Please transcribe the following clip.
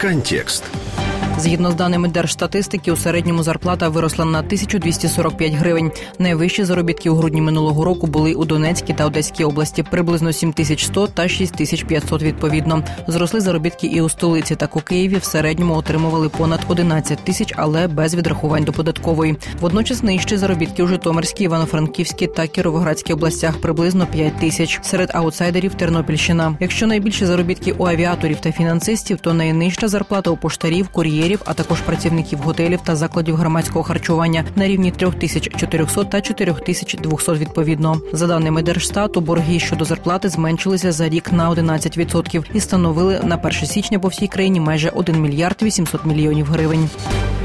Контекст. Згідно з даними Держстатистики, у середньому зарплата виросла на 1245 гривень. Найвищі заробітки у грудні минулого року були у Донецькій та Одеській області – приблизно 7100 та 6500 відповідно. Зросли заробітки і у столиці. Так у Києві в середньому отримували понад 11 тисяч, але без відрахувань до податкової. Водночас нижчі заробітки у Житомирській, Івано-Франківській та Кіровоградській областях – приблизно 5 тисяч. Серед аутсайдерів – Тернопільщина. Якщо найбільші заробітки у авіаторів та фінансистів, то найнижча зарплата у поштарів, кур'єрів, а також працівників готелів та закладів громадського харчування на рівні 3400 та 4200 відповідно. За даними Держстату, борги щодо зарплати зменшилися за рік на 11% і становили на 1 січня по всій країні майже 1 мільярд 800 мільйонів гривень.